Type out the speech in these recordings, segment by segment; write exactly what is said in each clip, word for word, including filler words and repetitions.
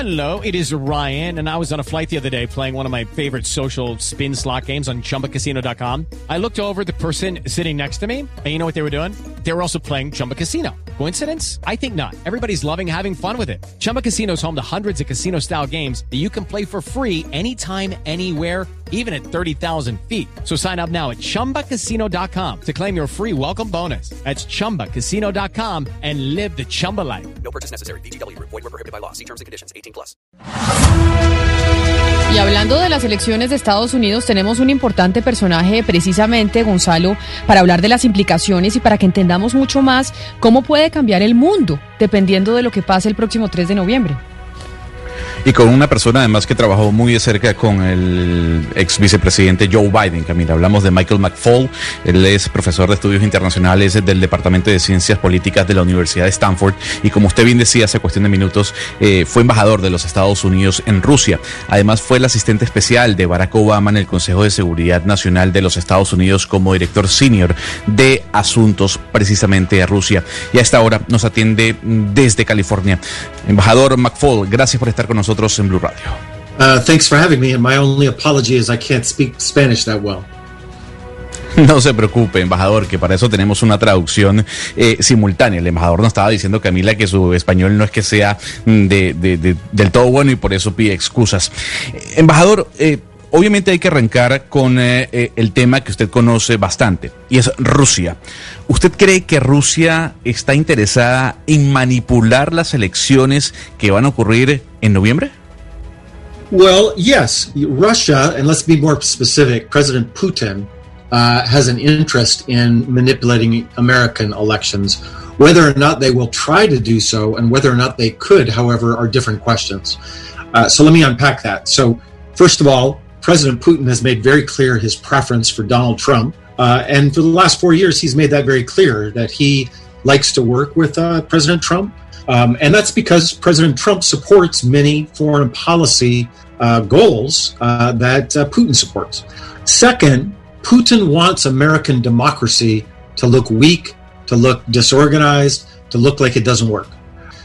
Hello, it is Ryan, and I was on a flight the other day playing one of my favorite social spin slot games on Chumba Casino dot com. I looked over at the person sitting next to me, and you know what they were doing? They were also playing Chumba Casino. Coincidence? I think not. Everybody's loving having fun with it. Chumba Casino is home to hundreds of casino-style games that you can play for free anytime, anywhere, even at thirty thousand feet. So sign up now at Chumba Casino dot com to claim your free welcome bonus. That's Chumba Casino dot com and live the Chumba life. No purchase necessary. V G W. Void where prohibited by law. See terms and conditions. eighteen plus. Y hablando de las elecciones de Estados Unidos, tenemos un importante personaje precisamente, Gonzalo, para hablar de las implicaciones y para que entendamos mucho más cómo puede cambiar el mundo dependiendo de lo que pase el próximo tres de noviembre. Y con una persona además que trabajó muy de cerca con el ex vicepresidente Joe Biden, Camila. Hablamos de Michael McFaul. Él es profesor de estudios internacionales del Departamento de Ciencias Políticas de la Universidad de Stanford y, como usted bien decía hace cuestión de minutos, eh, fue embajador de los Estados Unidos en Rusia. Además fue el asistente especial de Barack Obama en el Consejo de Seguridad Nacional de los Estados Unidos como director senior de asuntos precisamente a Rusia. Y a esta hora nos atiende desde California. Embajador McFaul, gracias por estar con nosotros en Blue Radio. Uh, thanks for having me, and my only apology is I can't speak Spanish that well. No se preocupe, embajador, que para eso tenemos una traducción eh, simultánea. El embajador nos estaba diciendo, Camila, que su español no es que sea de, de, de, del todo bueno y por eso pide excusas. Eh, embajador, eh, obviamente hay que arrancar con eh, eh, el tema que usted conoce bastante, y es Rusia. ¿Usted cree que Rusia está interesada en manipular las elecciones que van a ocurrir en noviembre? Well, yes. Russia, and let's be more specific, President Putin uh, has an interest in manipulating American elections. Whether or not they will try to do so and whether or not they could, however, are different questions. Uh, so let me unpack that. So first of all, President Putin has made very clear his preference for Donald Trump. Uh, and for the last four years, he's made that very clear that he likes to work with uh, President Trump. Um, and that's because President Trump supports many foreign policy uh, goals uh, that uh, Putin supports. Second, Putin wants American democracy to look weak, to look disorganized, to look like it doesn't work.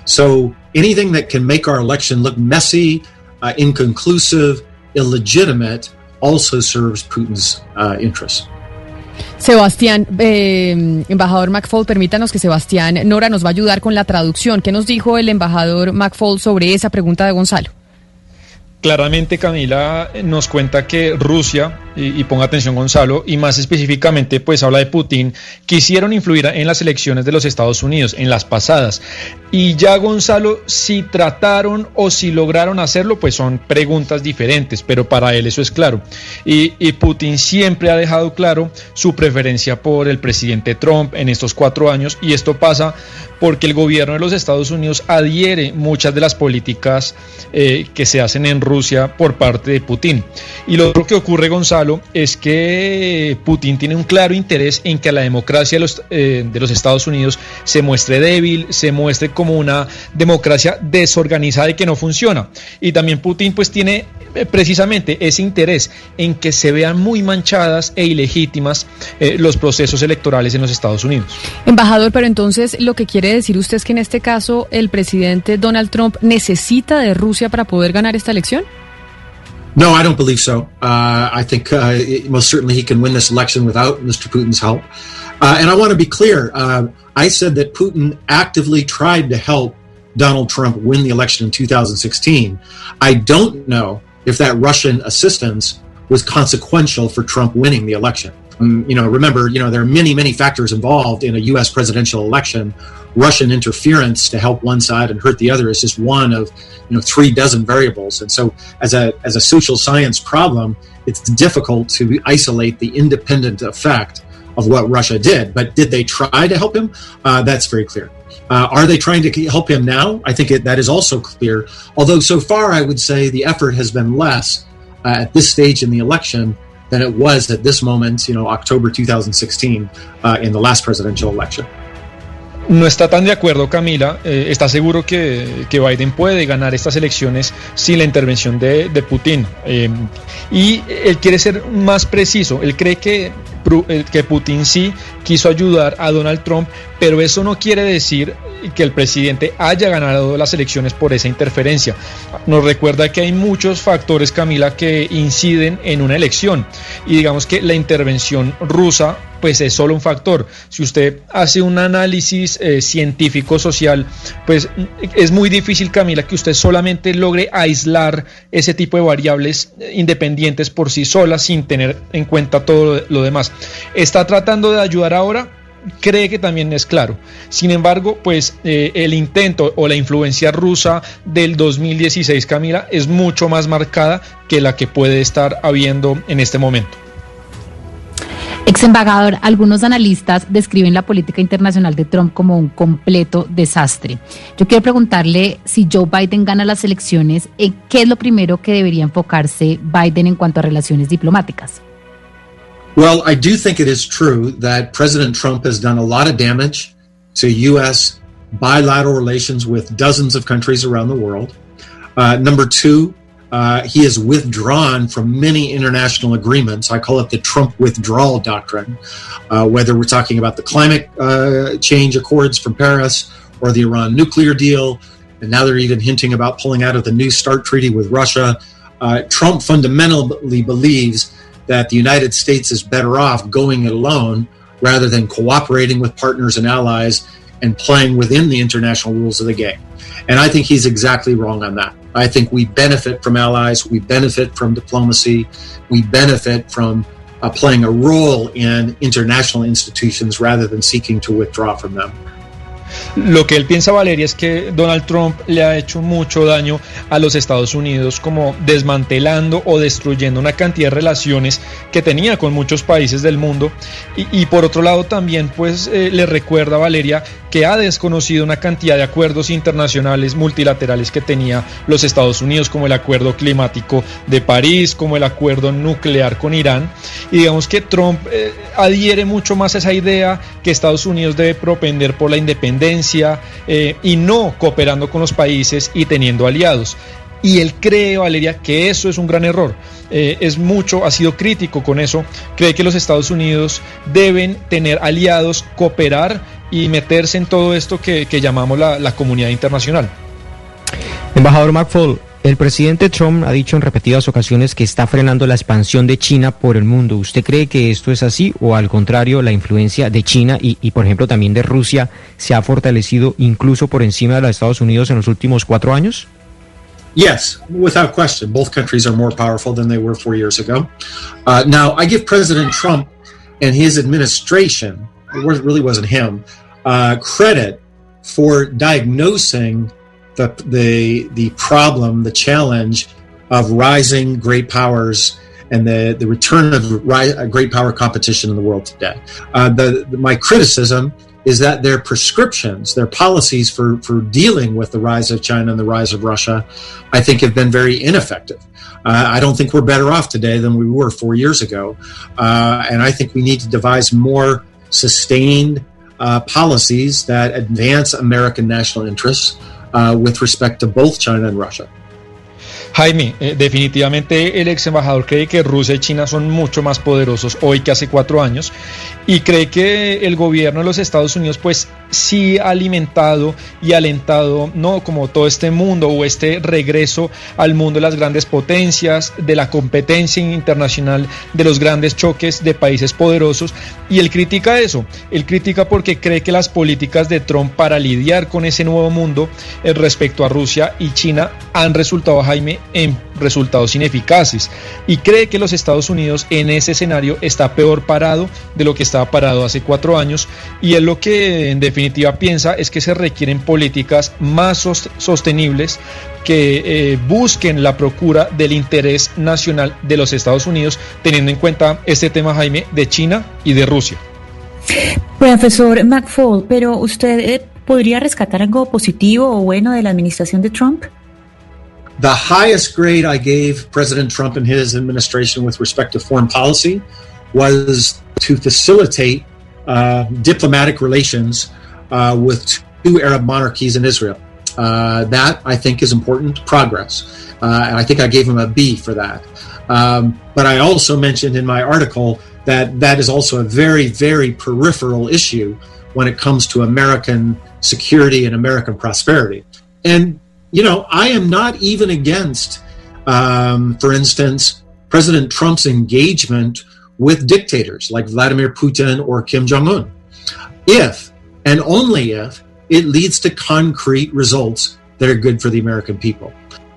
So anything that can make our election look messy, uh, inconclusive, illegitimate also serves Putin's uh, interests. Sebastián, eh, embajador McFaul, permítanos que Sebastián Nora nos va a ayudar con la traducción. ¿Qué nos dijo el embajador McFaul sobre esa pregunta de Gonzalo? Claramente, Camila nos cuenta que Rusia, y, y ponga atención Gonzalo, y más específicamente pues habla de Putin, quisieron influir en las elecciones de los Estados Unidos, en las pasadas. Y ya, Gonzalo, si trataron o si lograron hacerlo, pues son preguntas diferentes, pero para él eso es claro. Y, y Putin siempre ha dejado claro su preferencia por el presidente Trump en estos cuatro años, y esto pasa porque el gobierno de los Estados Unidos adhiere muchas de las políticas eh, que se hacen en Rusia por parte de Putin. Y lo otro que ocurre, Gonzalo, es que Putin tiene un claro interés en que la democracia de los, eh, de los Estados Unidos se muestre débil, se muestre como una democracia desorganizada y que no funciona. Y también Putin pues tiene eh, precisamente ese interés en que se vean muy manchadas e ilegítimas eh, los procesos electorales en los Estados Unidos. Embajador, pero entonces lo que quiere decir usted es que en este caso el presidente Donald Trump necesita de Rusia para poder ganar esta elección? No, I don't believe so. Uh, I think uh, it, most certainly he can win this election without Mister Putin's help. Uh, and I want to be clear. Uh, I said that Putin actively tried to help Donald Trump win the election in two thousand sixteen. I don't know if that Russian assistance was consequential for Trump winning the election. Um, you know, remember, you know, there are many, many factors involved in a U S presidential election. Russian interference to help one side and hurt the other is just one of, you know, three dozen variables. And so as a as a social science problem, it's difficult to isolate the independent effect of what Russia did. But did they try to help him? Uh, that's very clear. Uh, are they trying to help him now? I think it, that is also clear. Although so far I would say the effort has been less uh, at this stage in the election than it was at this moment, you know, October two thousand sixteen, uh, in the last presidential election. No está tan de acuerdo, Camila. Eh, está seguro que, que Biden puede ganar estas elecciones sin la intervención de, de Putin. Eh, y él quiere ser más preciso. Él cree que, que Putin sí quiso ayudar a Donald Trump, pero eso no quiere decir que el presidente haya ganado las elecciones por esa interferencia. Nos recuerda que hay muchos factores, Camila, que inciden en una elección, y digamos que la intervención rusa pues es solo un factor. Si usted hace un análisis eh, científico social, pues es muy difícil, Camila, que usted solamente logre aislar ese tipo de variables independientes por sí solas sin tener en cuenta todo lo demás. ¿Está tratando de ayudar ahora? Cree que también es claro. Sin embargo, pues eh, el intento o la influencia rusa del dos mil dieciséis, Camila, es mucho más marcada que la que puede estar habiendo en este momento. Ex embajador, algunos analistas describen la política internacional de Trump como un completo desastre. Yo quiero preguntarle, si Joe Biden gana las elecciones, ¿qué es lo primero que debería enfocarse Biden en cuanto a relaciones diplomáticas? Well, I do think it is true that President Trump has done a lot of damage to U S bilateral relations with dozens of countries around the world. Uh, number two, Uh, he has withdrawn from many international agreements. I call it the Trump withdrawal doctrine, uh, whether we're talking about the climate uh, change accords from Paris or the Iran nuclear deal, and now they're even hinting about pulling out of the New START treaty with Russia. Uh, Trump fundamentally believes that the United States is better off going it alone rather than cooperating with partners and allies and playing within the international rules of the game. And I think he's exactly wrong on that. I think we benefit from allies, we benefit from diplomacy, we benefit from uh, playing a role in international institutions rather than seeking to withdraw from them. Lo que él piensa, Valeria, es que Donald Trump le ha hecho mucho daño a los Estados Unidos, como desmantelando o destruyendo una cantidad de relaciones que tenía con muchos países del mundo, y, y por otro lado también pues eh, le recuerda a Valeria que ha desconocido una cantidad de acuerdos internacionales multilaterales que tenía los Estados Unidos, como el acuerdo climático de París, como el acuerdo nuclear con Irán, y digamos que Trump eh, adhiere mucho más a esa idea que Estados Unidos debe propender por la independencia eh, y no cooperando con los países y teniendo aliados. Y él cree, Valeria, que eso es un gran error. Eh, es mucho, ha sido crítico con eso. Cree que los Estados Unidos deben tener aliados, cooperar y meterse en todo esto que, que llamamos la, la comunidad internacional. Embajador McFaul, el presidente Trump ha dicho en repetidas ocasiones que está frenando la expansión de China por el mundo. ¿Usted cree que esto es así o al contrario la influencia de China y, y por ejemplo también de Rusia se ha fortalecido incluso por encima de los Estados Unidos en los últimos cuatro años? Yes, without question. Both countries are more powerful than they were four years ago. Uh, now, I give President Trump and his administration, it really wasn't him, uh, credit for diagnosing the, the, the problem, the challenge of rising great powers and the, the return of ri- great power competition in the world today. Uh, the, the, my criticism is that their prescriptions, their policies for, for dealing with the rise of China and the rise of Russia, I think have been very ineffective. Uh, I don't think we're better off today than we were four years ago. Uh, and I think we need to devise more sustained uh, policies that advance American national interests uh, with respect to both China and Russia. Jaime, eh, definitivamente el ex embajador cree que Rusia y China son mucho más poderosos hoy que hace cuatro años y cree que el gobierno de los Estados Unidos pues sí ha alimentado y alentado no como todo este mundo o este regreso al mundo de las grandes potencias, de la competencia internacional, de los grandes choques de países poderosos, y él critica eso, él critica porque cree que las políticas de Trump para lidiar con ese nuevo mundo eh, respecto a Rusia y China han resultado, Jaime, en resultados ineficaces, y cree que los Estados Unidos en ese escenario está peor parado de lo que estaba parado hace cuatro años, y él lo que en definitiva piensa es que se requieren políticas más sostenibles que eh, busquen la procura del interés nacional de los Estados Unidos, teniendo en cuenta este tema, Jaime, de China y de Rusia. Profesor McFaul, pero usted eh, podría rescatar algo positivo o bueno de la administración de Trump? The highest grade I gave President Trump and his administration with respect to foreign policy was to facilitate uh, diplomatic relations uh, with two Arab monarchies in Israel. Uh, that, I think, is important progress. Uh, and I think I gave him a B for that. Um, but I also mentioned in my article that that is also a very, very peripheral issue when it comes to American security and American prosperity. And, you know, I am not even against, um, for instance, President Trump's engagement with dictators like Vladimir Putin or Kim Jong-un, if and only if it leads to concrete results that are good for the American people.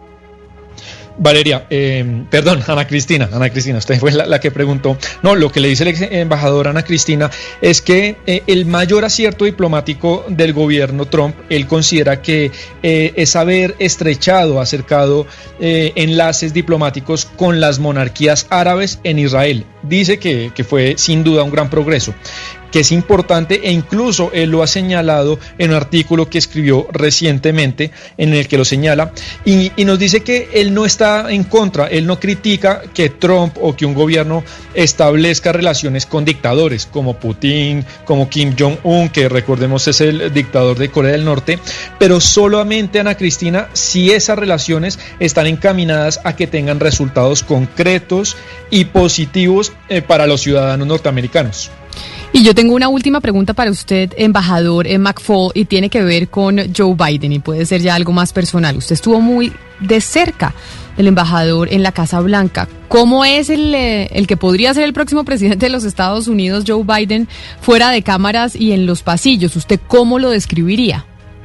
Valeria, eh, perdón, Ana Cristina, Ana Cristina, usted fue la, la que preguntó. No, lo que le dice el ex embajador Ana Cristina es que eh, el mayor acierto diplomático del gobierno Trump, él considera que eh, es haber estrechado, acercado eh, enlaces diplomáticos con las monarquías árabes en Israel. Dice que, que fue sin duda un gran progreso, que es importante, e incluso él lo ha señalado en un artículo que escribió recientemente en el que lo señala, y, y nos dice que él no está en contra, él no critica que Trump o que un gobierno establezca relaciones con dictadores como Putin, como Kim Jong-un, que recordemos es el dictador de Corea del Norte, pero solamente, Ana Cristina, si esas relaciones están encaminadas a que tengan resultados concretos y positivos eh, para los ciudadanos norteamericanos. Y yo tengo una última pregunta para usted, embajador McFaul, y tiene que ver con Joe Biden, y puede ser ya algo más personal. Usted estuvo muy de cerca del embajador en la Casa Blanca. ¿Cómo es el, el que podría ser el próximo presidente de los Estados Unidos, Joe Biden, fuera de cámaras y en los pasillos? ¿Usted cómo lo describiría?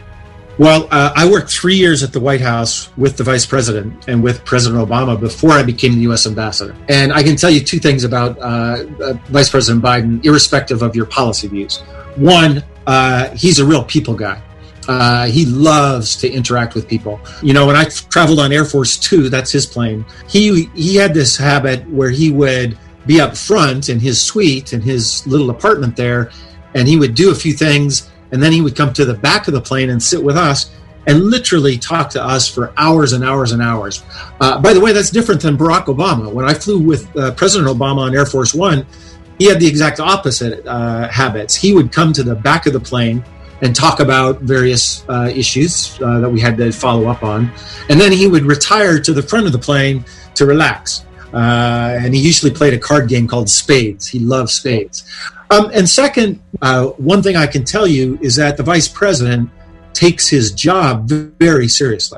Well, uh, I worked three years at the White House with the Vice President and with President Obama before I became the U S Ambassador. And I can tell you two things about uh, uh, Vice President Biden, irrespective of your policy views. One, uh, he's a real people guy. Uh, he loves to interact with people. You know, when I traveled on Air Force Two, that's his plane, he he had this habit where he would be up front in his suite, in his little apartment there, and he would do a few things, and then he would come to the back of the plane and sit with us and literally talk to us for hours and hours and hours. Uh, by the way, that's different than Barack Obama. When I flew with uh, President Obama on Air Force One, he had the exact opposite uh, habits. He would come to the back of the plane and talk about various uh, issues uh, that we had to follow up on. And then he would retire to the front of the plane to relax. Uh, and he usually played a card game called Spades. He loved spades. Um, and second, uh, one thing I can tell you is that the vice president takes his job very seriously.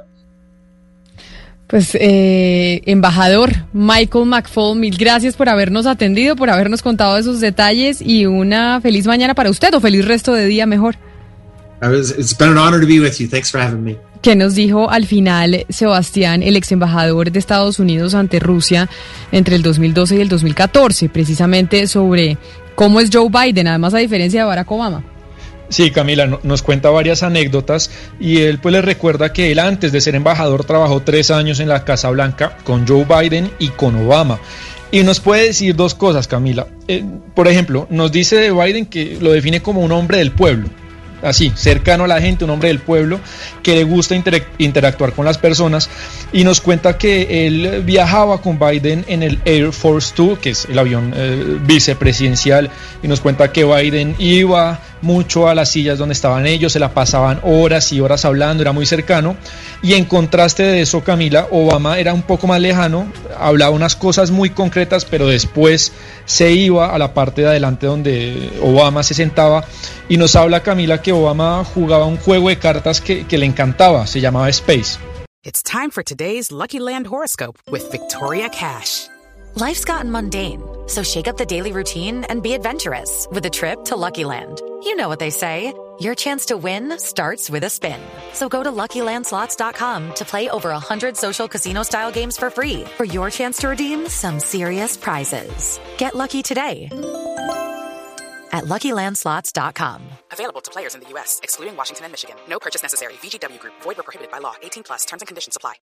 Pues, eh, embajador Michael McFaul, mil gracias por habernos atendido, por habernos contado esos detalles, y una feliz mañana para usted, o feliz resto de día mejor. It's been an honor to be with you. Thanks for having me. ¿Qué nos dijo al final Sebastián, el ex embajador de Estados Unidos ante Rusia entre el dos mil doce y el dos mil catorce, precisamente sobre cómo es Joe Biden, además a diferencia de Barack Obama? Sí, Camila, no, nos cuenta varias anécdotas, y él pues le recuerda que él, antes de ser embajador, trabajó tres años en la Casa Blanca con Joe Biden y con Obama. Y nos puede decir dos cosas, Camila. Eh, por ejemplo, nos dice de Biden que lo define como un hombre del pueblo. Así, cercano a la gente, un hombre del pueblo que le gusta inter- interactuar con las personas, y nos cuenta que él viajaba con Biden en el Air Force Two, que es el avión eh, vicepresidencial, y nos cuenta que Biden iba mucho a las sillas donde estaban ellos, se la pasaban horas y horas hablando, era muy cercano. Y en contraste de eso, Camila, Obama era un poco más lejano, hablaba unas cosas muy concretas, pero después se iba a la parte de adelante donde Obama se sentaba, y nos habla, Camila, que Obama jugaba un juego de cartas que, que le encantaba, se llamaba Space. It's time for today's Lucky Land horoscope with Victoria Cash. Life's gotten mundane, so shake up the daily routine and be adventurous with a trip to Lucky Land. You know what they say, your chance to win starts with a spin. So go to Lucky Land Slots dot com to play over one hundred social casino-style games for free for your chance to redeem some serious prizes. Get lucky today at Lucky Land Slots dot com. Available to players in the U S, excluding Washington and Michigan. No purchase necessary. V G W Group. Void where prohibited by law. eighteen plus. Terms and conditions apply.